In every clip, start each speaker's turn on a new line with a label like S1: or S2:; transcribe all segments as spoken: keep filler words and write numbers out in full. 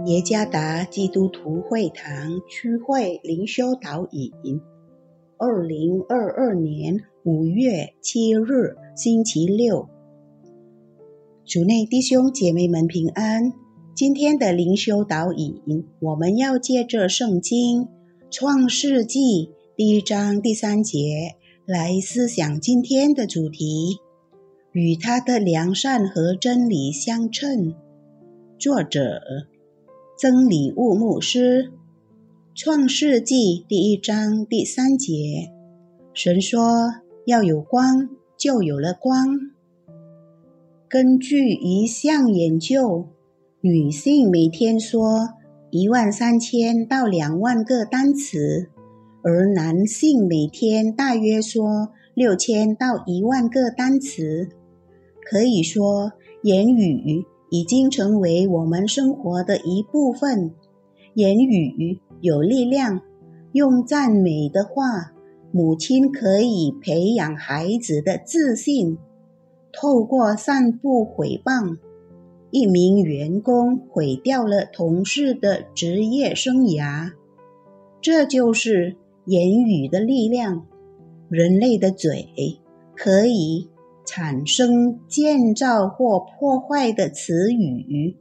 S1: 耶加达基督徒会堂区会灵修导引，二零二二年五月七日星期六。主内弟兄姐妹们平安。今天的灵修导引，我们要借着圣经创世纪第一章第三节来思想今天的主题，与他的良善和真理相称。作者曾礼物牧师。创世纪第一章第三节，神说要有光，就有了光。根据一项研究，女性每天说一万三千到两万个单词，而男性每天大约说六千到一万个单词。可以说，言语已经成为我们生活的一部分。言语有力量，用赞美的话，母亲可以培养孩子的自信。透过散布诽谤，一名员工毁掉了同事的职业生涯。这就是言语的力量。人类的嘴可以产生建造或破坏的词语。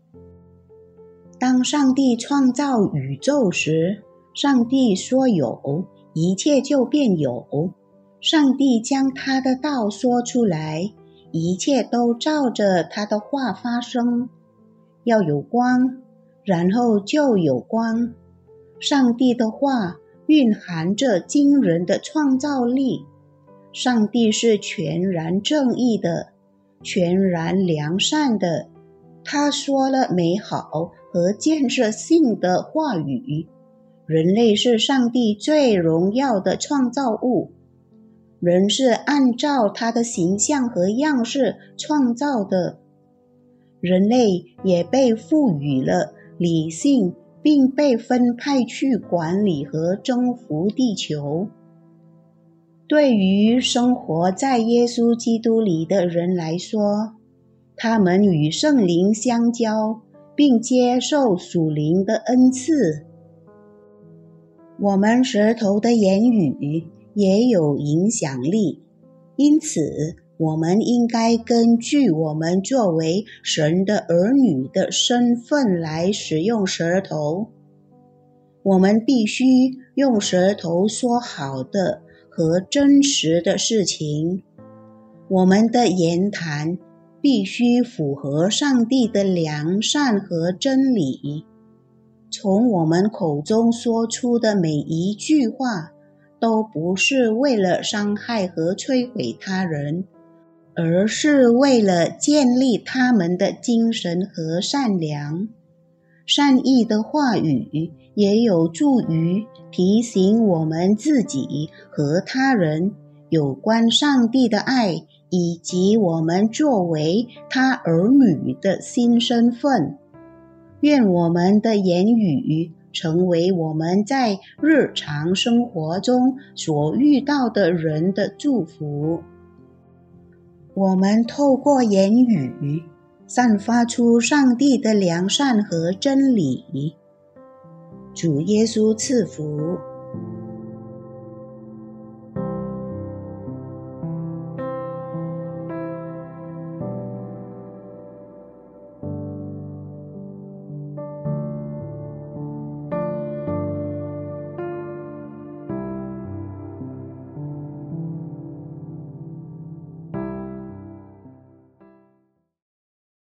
S1: 当上帝创造宇宙时，上帝说有，一切就变有。上帝将他的道说出来，一切都照着他的话发生。要有光，然后就有光。上帝的话蕴含着惊人的创造力。上帝是全然正义的，全然良善的。他说了美好和建设性的话语。人类是上帝最荣耀的创造物。人是按照他的形象和样式创造的。人类也被赋予了理性，并被分派去管理和征服地球。对于生活在耶稣基督里的人来说，他们与圣灵相交，并接受属灵的恩赐。我们舌头的言语也有影响力，因此我们应该根据我们作为神的儿女的身份来使用舌头。我们必须用舌头说好的和真实的事情。我们的言谈必须符合上帝的良善和真理。从我们口中说出的每一句话，都不是为了伤害和摧毁他人，而是为了建立他们的精神和善良。善意的话语也有助于提醒我们自己和他人有关上帝的爱，以及我们作为他儿女的新身份。愿我们的言语成为我们在日常生活中所遇到的人的祝福。我们透过言语散发出上帝的良善和真理。主耶稣赐福。